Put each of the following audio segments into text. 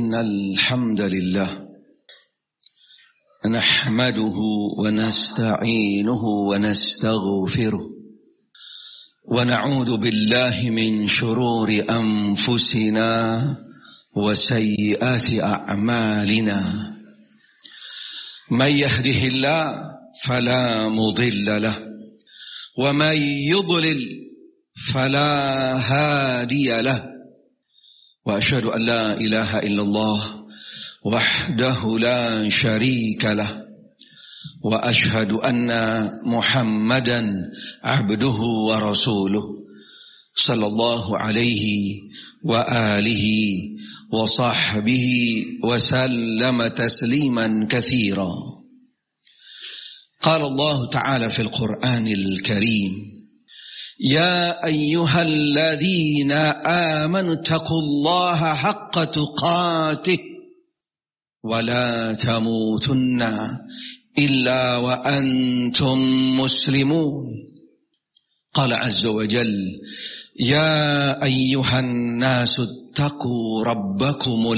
إن الحمد لله نحمده ونستعينه ونستغفره ونعوذ بالله من شرور أنفسنا وسيئات أعمالنا من يهده الله فلا مضل له ومن يضلل فلا هادي له وأشهد أن لا إله إلا الله وحده لا شريك له وأشهد أن محمدا عبده ورسوله صلى الله عليه وآله وصحبه وسلم تسليما كثيرا. قال الله تعالى في القرآن الكريم: يا أيها الذين آمنوا اتقوا الله حق تقاته ولا تموتن إلا وأنتم مسلمون. قال عز وجل: يا أيها الناس اتقوا ربكم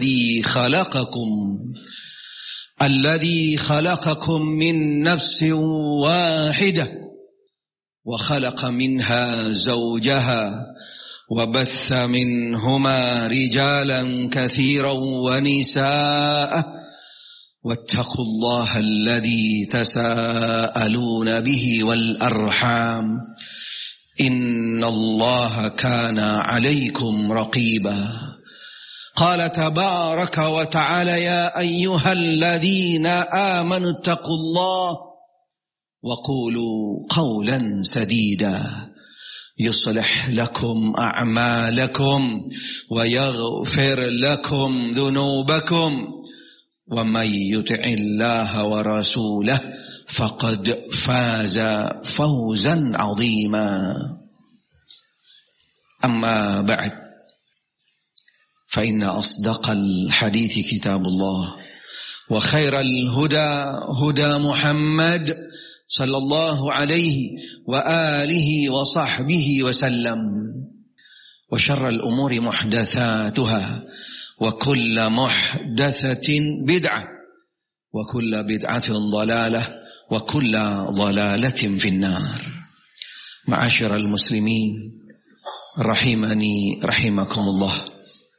الذي خلقكم من نفس واحدة وخلق منها زوجها وبث منهما رجالا كثيرا ونساء واتقوا الله الذي تساءلون به والأرحام إن الله كان عليكم رقيبا. قال تبارك وتعالى: يا أيها الذين آمنوا اتقوا الله وقولوا قولا سديدا يصلح لكم أعمالكم ويغفر لكم ذنوبكم ومن يطع الله ورسوله فقد فاز فوزا عظيما. أما بعد فإن أصدق الحديث كتاب الله وخير الهدى هدى محمد صلى الله عليه وآله وصحبه وسلم وشر الأمور محدثاتها وكل محدثة بدعة وكل بدعة ضلالة وكل ضلالة في النار. معاشر المسلمين rahimani rahimakumullah.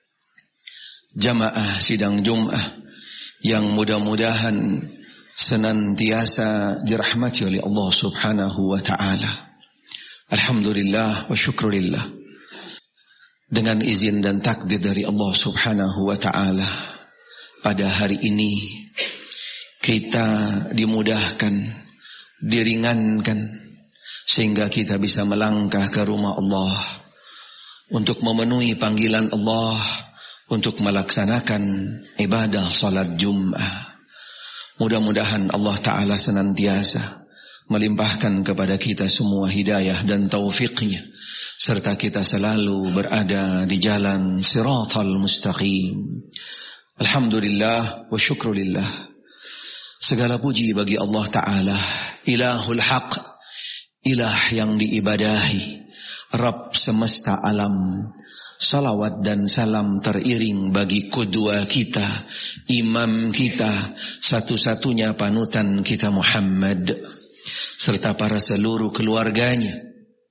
Jamaah sidang Jum'ah yang mudah-mudahan senantiasa dirahmati oleh Allah Subhanahu wa ta'ala. Alhamdulillah wa syukurillah. Dengan izin dan takdir dari Allah Subhanahu wa ta'ala, pada hari ini kita dimudahkan, diringankan, sehingga kita bisa melangkah ke rumah Allah untuk memenuhi panggilan Allah, untuk melaksanakan ibadah salat Jum'ah. Mudah-mudahan Allah Ta'ala senantiasa melimpahkan kepada kita semua hidayah dan taufiknya, serta kita selalu berada di jalan siratal mustaqim. Alhamdulillah wa syukrulillah. Segala puji bagi Allah Ta'ala, ilahul haq, ilah yang diibadahi, Rabb semesta alam. Salawat dan salam teriring bagi qudwa kita, imam kita, satu-satunya panutan kita Muhammad, serta para seluruh keluarganya,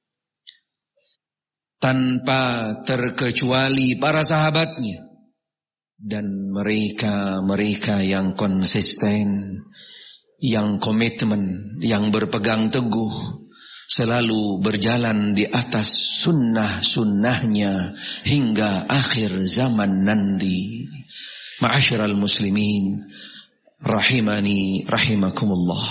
tanpa terkecuali para sahabatnya, dan mereka yang konsisten, yang komitmen, yang berpegang teguh, selalu berjalan di atas sunnah-sunnahnya hingga akhir zaman nanti. Ma'asyiral muslimin rahimani rahimakumullah.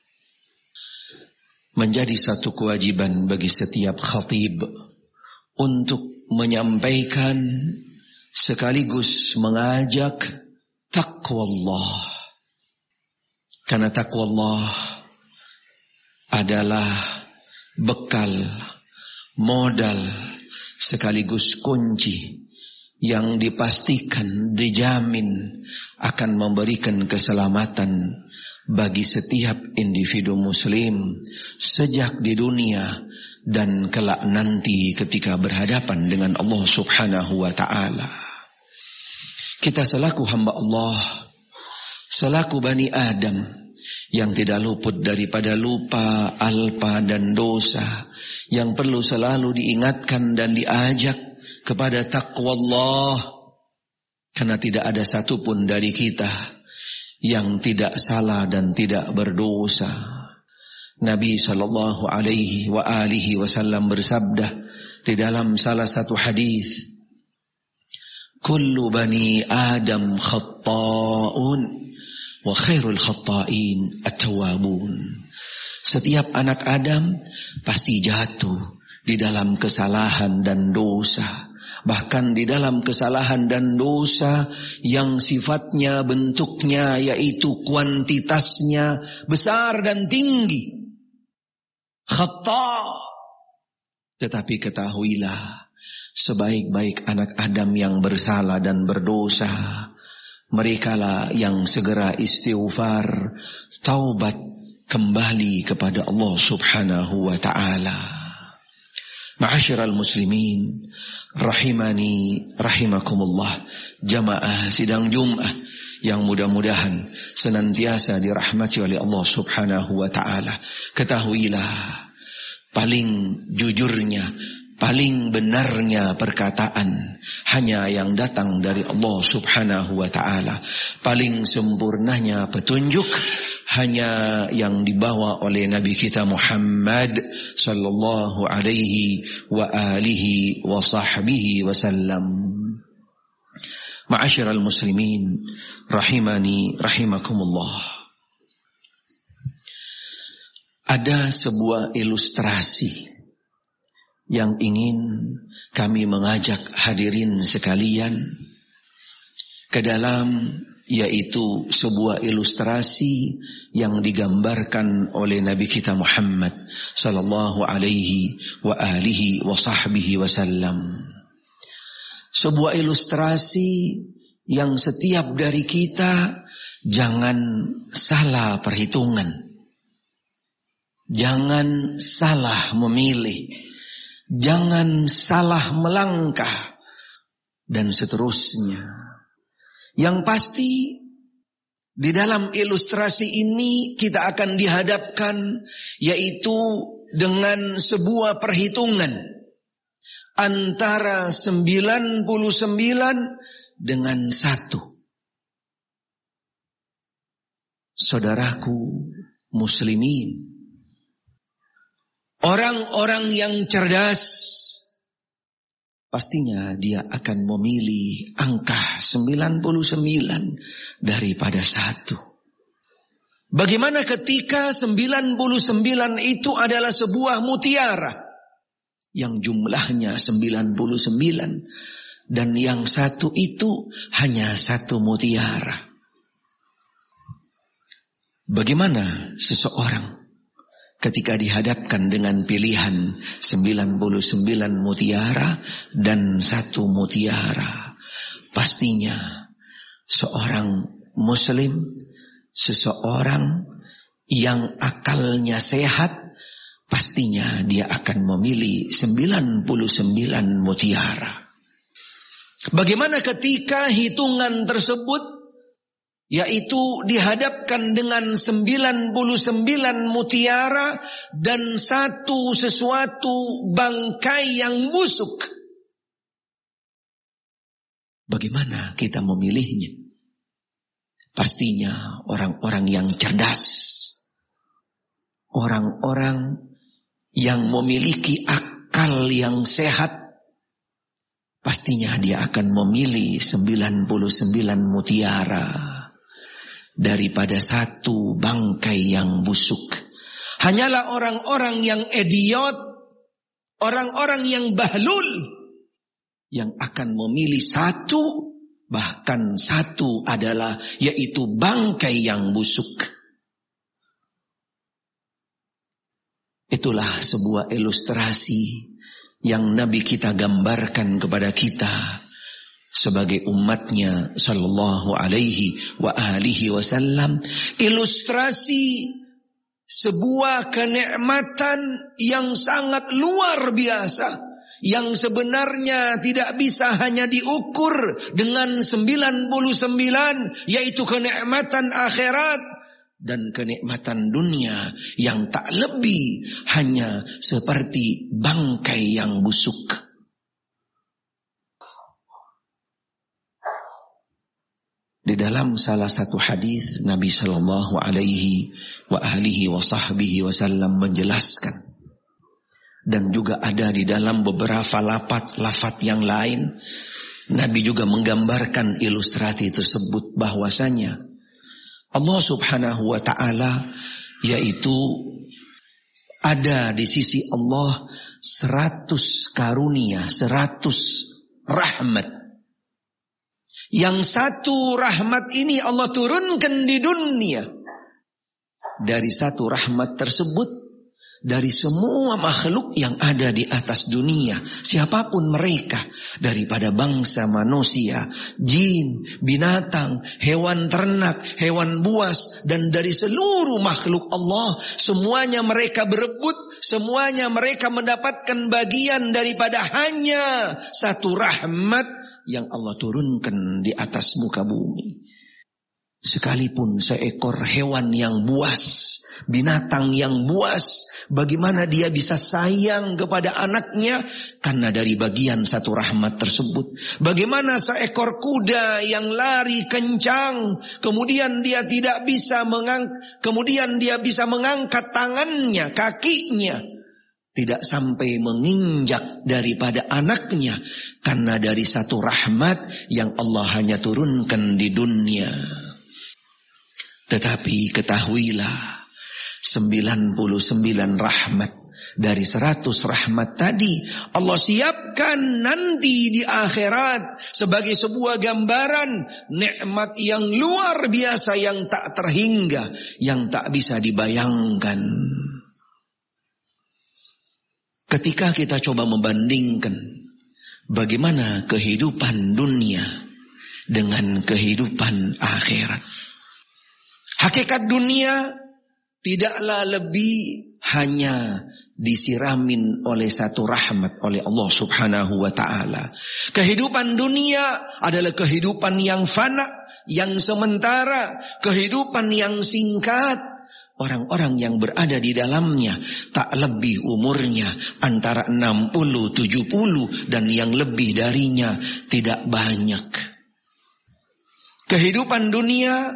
Menjadi satu kewajiban bagi setiap khatib untuk menyampaikan sekaligus mengajak taqwa Allah. Karena taqwa Allah adalah bekal, modal, sekaligus kunci yang dipastikan, dijamin akan memberikan keselamatan bagi setiap individu muslim sejak di dunia dan kelak nanti ketika berhadapan dengan Allah Subhanahu wa ta'ala. Kita selaku hamba Allah, selaku Bani Adam yang tidak luput daripada lupa, alpa dan dosa, yang perlu selalu diingatkan dan diajak kepada taqwa Allah. Karena tidak ada satupun dari kita yang tidak salah dan tidak berdosa. Nabi sallallahu alaihi wa alihi wasallam bersabda di dalam salah satu hadis, kullu bani Adam khatta'un wa khairul khatta'in at-tawwabun. Setiap anak Adam pasti jatuh di dalam kesalahan dan dosa. Bahkan di dalam kesalahan dan dosa yang sifatnya, bentuknya, yaitu kuantitasnya besar dan tinggi. Khata'. Tetapi ketahuilah, sebaik-baik anak Adam yang bersalah dan berdosa, merekalah yang segera istighfar, taubat, kembali kepada Allah subhanahu wa ta'ala. Ma'asyiral muslimin, rahimani rahimakumullah, jamaah sidang Jumat yang mudah-mudahan senantiasa dirahmati oleh Allah subhanahu wa ta'ala. Ketahuilah, paling jujurnya, paling benarnya perkataan hanya yang datang dari Allah subhanahu wa ta'ala. Paling sempurnanya petunjuk hanya yang dibawa oleh Nabi kita Muhammad sallallahu alaihi wa alihi wa sahbihi wasallam. Ma'asyiral muslimin, rahimani rahimakumullah. Ada sebuah ilustrasi yang ingin kami mengajak hadirin sekalian ke dalam, yaitu sebuah ilustrasi yang digambarkan oleh Nabi kita Muhammad sallallahu alaihi wa alihi wa sahbihi wasallam. Sebuah ilustrasi yang setiap dari kita jangan salah perhitungan. Jangan salah memilih, jangan salah melangkah, dan seterusnya. Yang pasti di dalam ilustrasi ini kita akan dihadapkan yaitu dengan sebuah perhitungan antara 99 dengan 1. Saudaraku muslimin, orang-orang yang cerdas pastinya dia akan memilih angka 99 daripada 1. Bagaimana ketika 99 itu adalah sebuah mutiara yang jumlahnya 99 dan yang 1 itu hanya 1 mutiara. Bagaimana seseorang ketika dihadapkan dengan pilihan 99 mutiara dan 1 mutiara? Pastinya seorang muslim, seseorang yang akalnya sehat, pastinya dia akan memilih 99 mutiara. Bagaimana ketika hitungan tersebut yaitu dihadapkan dengan 99 mutiara dan 1 sesuatu bangkai yang busuk? Bagaimana kita memilihnya? Pastinya orang-orang yang cerdas, orang-orang yang memiliki akal yang sehat, pastinya dia akan memilih 99 mutiara daripada 1 bangkai yang busuk. Hanyalah orang-orang yang idiot, orang-orang yang bahlul, yang akan memilih 1, bahkan 1 adalah yaitu bangkai yang busuk. Itulah sebuah ilustrasi yang Nabi kita gambarkan kepada kita sebagai umatnya sallallahu alaihi wa alihi wasallam. Ilustrasi sebuah kenikmatan yang sangat luar biasa yang sebenarnya tidak bisa hanya diukur dengan 99, yaitu kenikmatan akhirat dan kenikmatan dunia yang tak lebih hanya seperti bangkai yang busuk. Di dalam salah satu hadis Nabi sallallahu alaihi wasallam menjelaskan, dan juga ada di dalam beberapa lafaz yang lain, Nabi juga menggambarkan ilustrasi tersebut bahwasanya Allah subhanahu wa ta'ala yaitu ada di sisi Allah 100 karunia, 100 rahmat. Yang satu rahmat ini Allah turunkan di dunia. Dari satu rahmat tersebut, dari semua makhluk yang ada di atas dunia, siapapun mereka, daripada bangsa manusia, jin, binatang, hewan ternak, hewan buas, dan dari seluruh makhluk Allah, semuanya mereka berebut, semuanya mereka mendapatkan bagian daripada hanya satu rahmat yang Allah turunkan di atas muka bumi. Sekalipun seekor hewan yang buas, binatang yang buas, bagaimana dia bisa sayang kepada anaknya? Karena dari bagian satu rahmat tersebut. Bagaimana seekor kuda yang lari kencang, kemudian dia tidak bisa mengangkat tangannya, kakinya, tidak sampai menginjak daripada anaknya, karena dari satu rahmat yang Allah hanya turunkan di dunia. Tetapi ketahuilah, 99 rahmat dari 100 rahmat tadi Allah siapkan nanti di akhirat sebagai sebuah gambaran nikmat yang luar biasa, yang tak terhingga, yang tak bisa dibayangkan. Ketika kita coba membandingkan bagaimana kehidupan dunia dengan kehidupan akhirat, hakikat dunia tidaklah lebih hanya disiramin oleh satu rahmat oleh Allah subhanahu wa ta'ala. Kehidupan dunia adalah kehidupan yang fana, yang sementara, kehidupan yang singkat. Orang-orang yang berada di dalamnya tak lebih umurnya antara 60, 70 dan yang lebih darinya tidak banyak. Kehidupan dunia,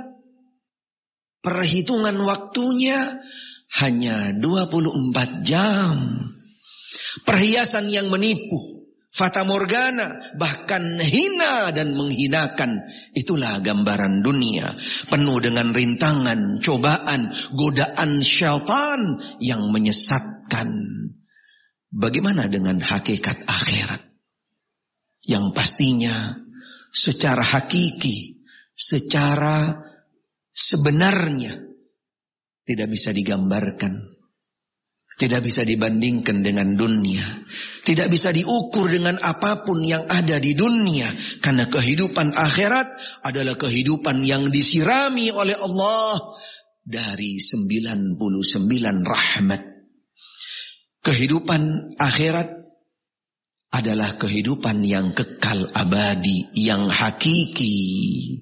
perhitungan waktunya hanya 24 jam. Perhiasan yang menipu, fata morgana, bahkan hina dan menghinakan. Itulah gambaran dunia, penuh dengan rintangan, cobaan, godaan syaitan yang menyesatkan. Bagaimana dengan hakikat akhirat? Yang pastinya secara hakiki, secara sebenarnya tidak bisa digambarkan, tidak bisa dibandingkan dengan dunia, tidak bisa diukur dengan apapun yang ada di dunia. Karena kehidupan akhirat adalah kehidupan yang disirami oleh Allah dari 99 rahmat. Kehidupan akhirat adalah kehidupan yang kekal abadi, yang hakiki.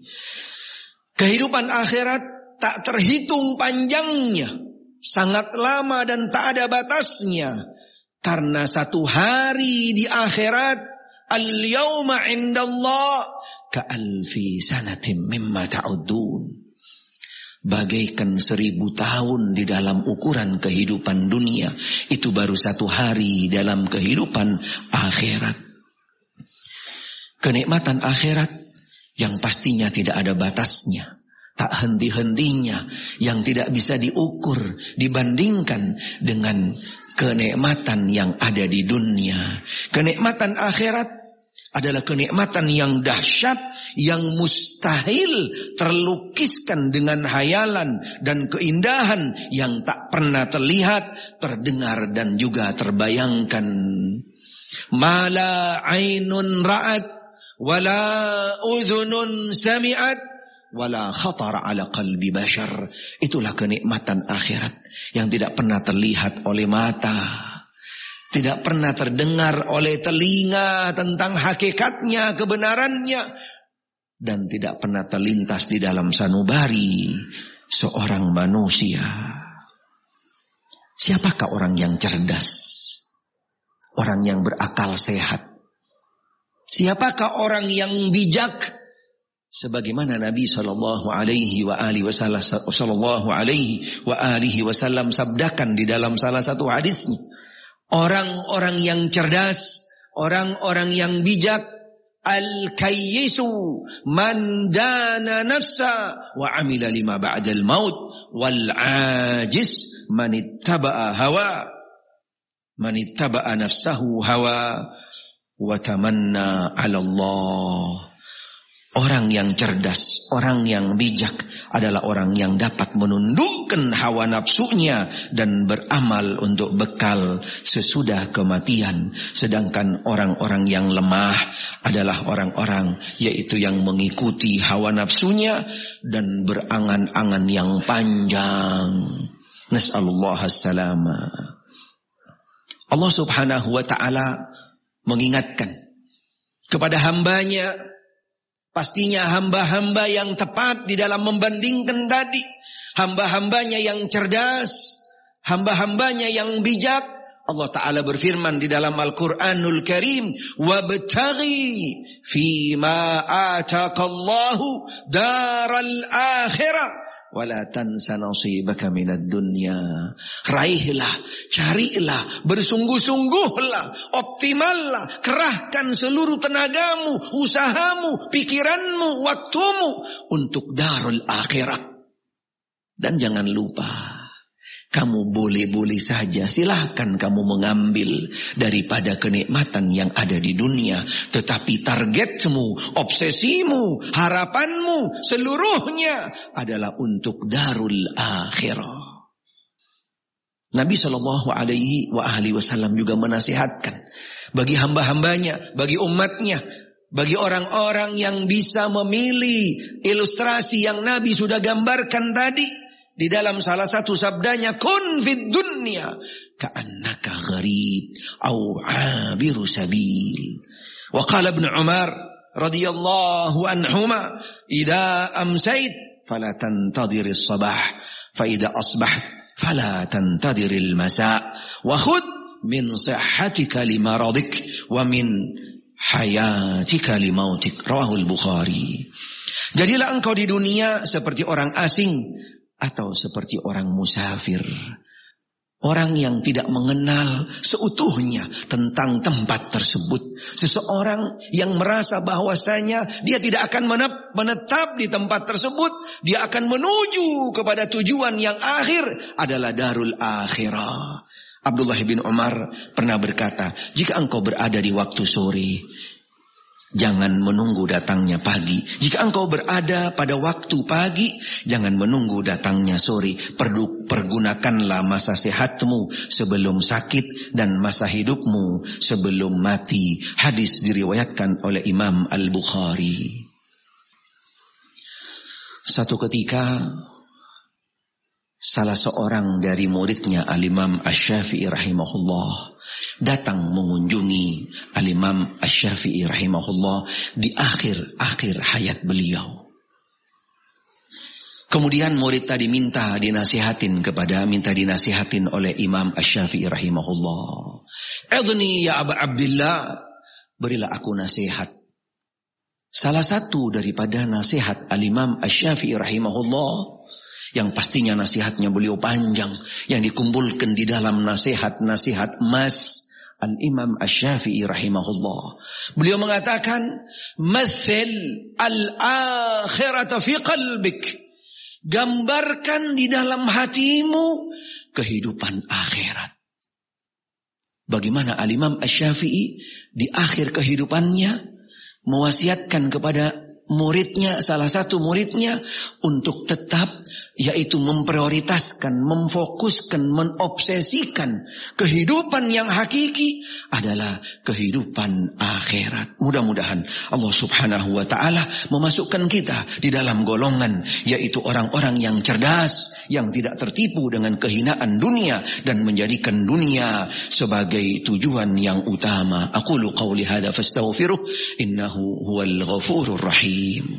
Kehidupan akhirat tak terhitung panjangnya, sangat lama dan tak ada batasnya. Karena satu hari di akhirat, al-yawma indallah ka'alfi sanatim mimma ta'udun, bagaikan 1000 tahun di dalam ukuran kehidupan dunia. Itu baru satu hari dalam kehidupan akhirat. Kenikmatan akhirat yang pastinya tidak ada batasnya, tak henti-hentinya, yang tidak bisa diukur, dibandingkan dengan kenikmatan yang ada di dunia. Kenikmatan akhirat adalah kenikmatan yang dahsyat, yang mustahil terlukiskan dengan hayalan dan keindahan yang tak pernah terlihat, terdengar dan juga terbayangkan. Mala ainun ra'at wala udhunun sami'at wala khatar ala qalbi bashar. Itulah kenikmatan akhirat yang tidak pernah terlihat oleh mata, Tidak pernah terdengar oleh telinga tentang hakikatnya, kebenarannya. Dan tidak pernah terlintas di dalam sanubari seorang manusia. Siapakah orang yang cerdas? Orang yang berakal sehat? Siapakah orang yang bijak? Sebagaimana Nabi sallallahu alaihi wasallam sabdakan di dalam salah satu hadisnya, orang-orang yang cerdas, orang-orang yang bijak, al-kayyisu man dana nafsa wa amila lima ba'dal maut, wal ajis man ittaba'a nafsahu hawa wa tamanna 'ala Allah. Orang yang cerdas, orang yang bijak adalah orang yang dapat menundukkan hawa nafsunya dan beramal untuk bekal sesudah kematian. Sedangkan orang-orang yang lemah adalah orang-orang yaitu yang mengikuti hawa nafsunya dan berangan-angan yang panjang. Nas'alullah as-salama. Allah subhanahu wa ta'ala mengingatkan kepada hambanya, pastinya hamba-hamba yang tepat di dalam membandingkan tadi, hamba-hambanya yang cerdas, hamba-hambanya yang bijak. Allah Ta'ala berfirman di dalam Al-Quranul Karim, وَابْتَغِي فِي مَا آتَاكَ اللَّهُ دَارَ الْآخِرَةِ وَلَا تَنْسَ نَصِيبَكَ مِنَ الدُّنْيَا. Raihlah, carilah, bersungguh-sungguhlah, optimallah, kerahkan seluruh tenagamu, usahamu, pikiranmu, waktumu untuk darul akhirah. Dan jangan lupa, kamu boleh-boleh saja, silahkan kamu mengambil daripada kenikmatan yang ada di dunia. Tetapi targetmu, obsesimu, harapanmu seluruhnya adalah untuk darul akhirah. Nabi SAW juga menasihatkan bagi hamba-hambanya, bagi umatnya, bagi orang-orang yang bisa memilih ilustrasi yang Nabi sudah gambarkan tadi. Di dalam salah satu sabdanya, kun fid dunya ka'annaka gharib au 'abiru sabil. Wa qala Ibnu Umar radhiyallahu anhuma, idza amsayt fala tantadhir as-sabah fa idza asbaht fala tantadhir al-masa wa khudh min sihhatika limaradik wa min hayatika limautik. Rawahul Bukhari. Jadilah engkau di dunia seperti orang asing atau seperti orang musafir, orang yang tidak mengenal seutuhnya tentang tempat tersebut. Seseorang yang merasa bahwasanya dia tidak akan menetap di tempat tersebut, dia akan menuju kepada tujuan yang akhir adalah darul akhirah. Abdullah bin Umar pernah berkata, jika engkau berada di waktu sore, jangan menunggu datangnya pagi. Jika engkau berada pada waktu pagi, jangan menunggu datangnya sore. Pergunakanlah masa sehatmu sebelum sakit dan masa hidupmu sebelum mati. Hadis diriwayatkan oleh Imam Al-Bukhari. Satu ketika salah seorang dari muridnya Al-Imam Asy-Syafi'i rahimahullah datang mengunjungi Al-Imam Asy-Syafi'i rahimahullah di akhir hayat beliau. Kemudian murid tadi minta dinasihatin oleh Imam Asy-Syafi'i rahimahullah. Idni ya Aba Abdillah, berilah aku nasihat. Salah satu daripada nasihat Al-Imam Asy-Syafi'i rahimahullah, yang pastinya nasihatnya beliau panjang, yang dikumpulkan di dalam nasihat-nasihat emas Al-Imam Asy-Syafi'i rahimahullah. Beliau mengatakan, "Mathil al-akhirata fi qalbik." Gambarkan di dalam hatimu kehidupan akhirat. Bagaimana Al-Imam Asy-Syafi'i di akhir kehidupannya mewasiatkan kepada muridnya, salah satu muridnya, untuk tetap yaitu memprioritaskan, memfokuskan, menobsesikan kehidupan yang hakiki adalah kehidupan akhirat. Mudah-mudahan Allah Subhanahu wa ta'ala memasukkan kita di dalam golongan, yaitu orang-orang yang cerdas, yang tidak tertipu dengan kehinaan dunia dan menjadikan dunia sebagai tujuan yang utama. Aqulu qawli hadza fastaghfiruh innahu huwal ghafurur rahim.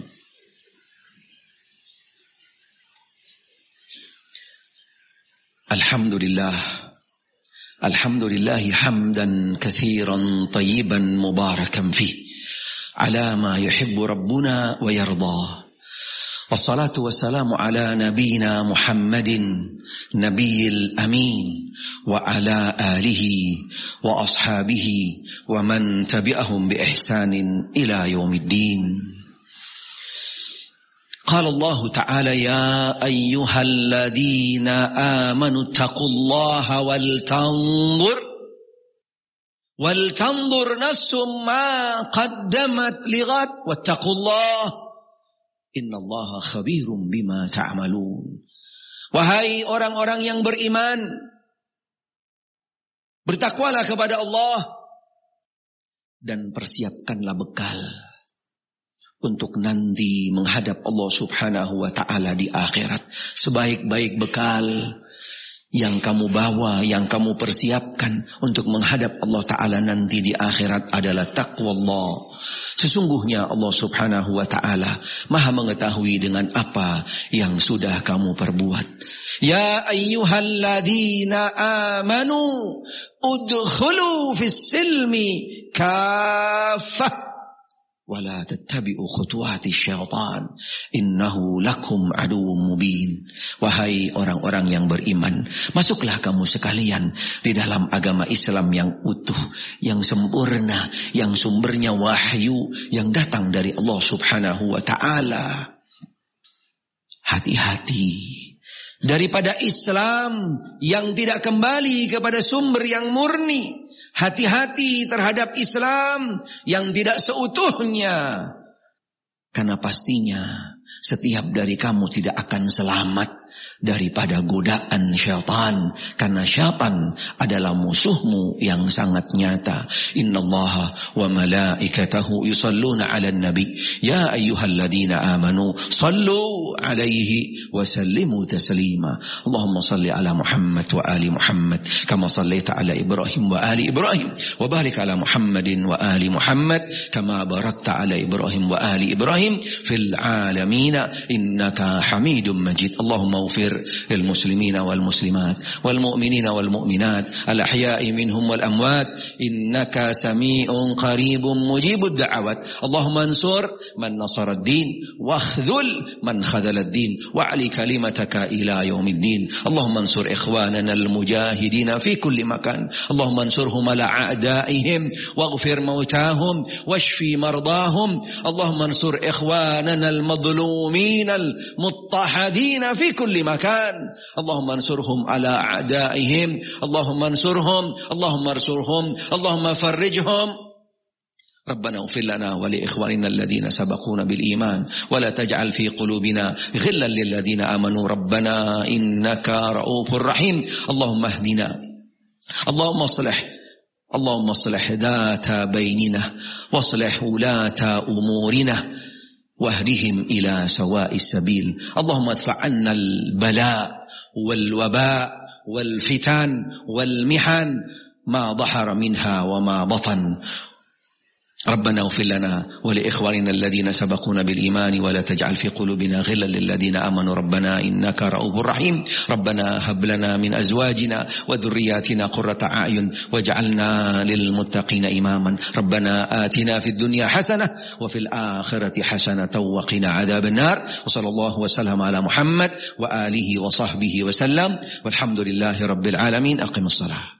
Alhamdulillah hamdan katsiran tayyiban mubarakan fih ala ma yuhibbu rabbuna wa yarda. Wassalatu wassalamu ala nabiyyina Muhammadin nabiyil amin wa ala alihi wa ashabihi wa man tabi'ahum bi ihsanin ila yaumiddin. قال الله تعالى يا أيها الذين آمنوا اتقوا الله ولتنظر نفس ما قدمت لغد واتقوا الله إن الله خبير بما تعملون. Wahai orang-orang yang beriman, bertakwalah kepada Allah dan persiapkanlah bekal untuk nanti menghadap Allah Subhanahu wa ta'ala di akhirat. Sebaik-baik bekal yang kamu bawa, yang kamu persiapkan untuk menghadap Allah Ta'ala nanti di akhirat adalah taqwa Allah. Sesungguhnya Allah Subhanahu wa ta'ala maha mengetahui dengan apa yang sudah kamu perbuat. Ya ayyuhalladzina amanu udkhulu fis silmi kaffah wala tattabi'u khutuwati syaitan innahu lakum aduwwum mubin. Wahai orang-orang yang beriman, masuklah kamu sekalian di dalam agama Islam yang utuh, yang sempurna, yang sumbernya wahyu yang datang dari Allah Subhanahu wa ta'ala. Hati-hati daripada Islam yang tidak kembali kepada sumber yang murni. Hati-hati terhadap Islam yang tidak seutuhnya. Karena pastinya setiap dari kamu tidak akan selamat daripada godaan syaitan. Karena syaitan adalah musuhmu yang sangat nyata. Innallaha wa malaikatahu yusalluna 'alan nabi ya ayyuhalladzina amanu sallu 'alaihi wa sallimu taslima. Allahumma salli ala Muhammad wa ali Muhammad kama sallaita ala Ibrahim wa ali Ibrahim wa barik ala Muhammadin wa ali Muhammad kama barakta ala Ibrahim wa ali Ibrahim fil alamin innaka Hamidum Majid. Allahumma اغفر للمسلمين والمسلمات والمؤمنين والمؤمنات الأحياء منهم والأموات إنك سميع قريب مجيب الدعوات. اللهم انصر من نصر الدين واخذل من خذل الدين وعلي كلمتك إلى يوم الدين. اللهم انصر إخواننا المجاهدين في كل مكان. اللهم انصرهم على أعدائهم واغفر موتاهم واشفي مرضاهم. اللهم انصر إخواننا المظلومين المضطهدين في كل مكان. اللهم انصرهم على أعدائهم. اللهم انصرهم اللهم فرجهم. ربنا اغفر لنا ولإخواننا الذين سبقونا بالإيمان ولا تجعل في قلوبنا غلا للذين آمنوا ربنا إنك رؤوف رحيم. اللهم اهدنا اللهم اصلح ذات بيننا واصلح ولاة أمورنا واهدهم إلى سواء السبيل. اللهم ادفع عنا البلاء والوباء والفتن والمحن ما ظهر منها وما بطن. ربنا اغفر لنا ولإخواننا الذين سبقونا بالإيمان ولا تجعل في قلوبنا غلا للذين آمنوا ربنا إنك رؤوف رحيم. ربنا هب لنا من أزواجنا وذرياتنا قرة أعين واجعلنا للمتقين إماما. ربنا آتنا في الدنيا حسنة وفي الآخرة حسنة وقنا عذاب النار. وصلى الله وسلم على محمد وآله وصحبه وسلم والحمد لله رب العالمين. أقم الصلاة.